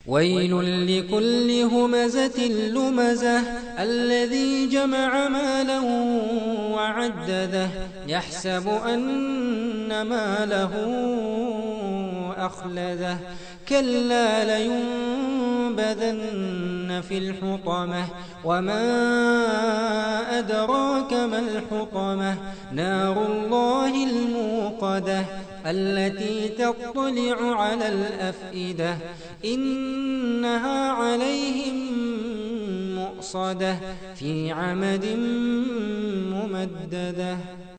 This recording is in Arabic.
ويل لكل همزة لمزة الذي جمع مالا وعدده يحسب أن ماله أخلده كلا لينبذن في الحطمة وما أدراك ما الحطمة نار الله الموقدة التي تطلع على الأفئدة إنها عليهم مؤصدة في عمد ممددة.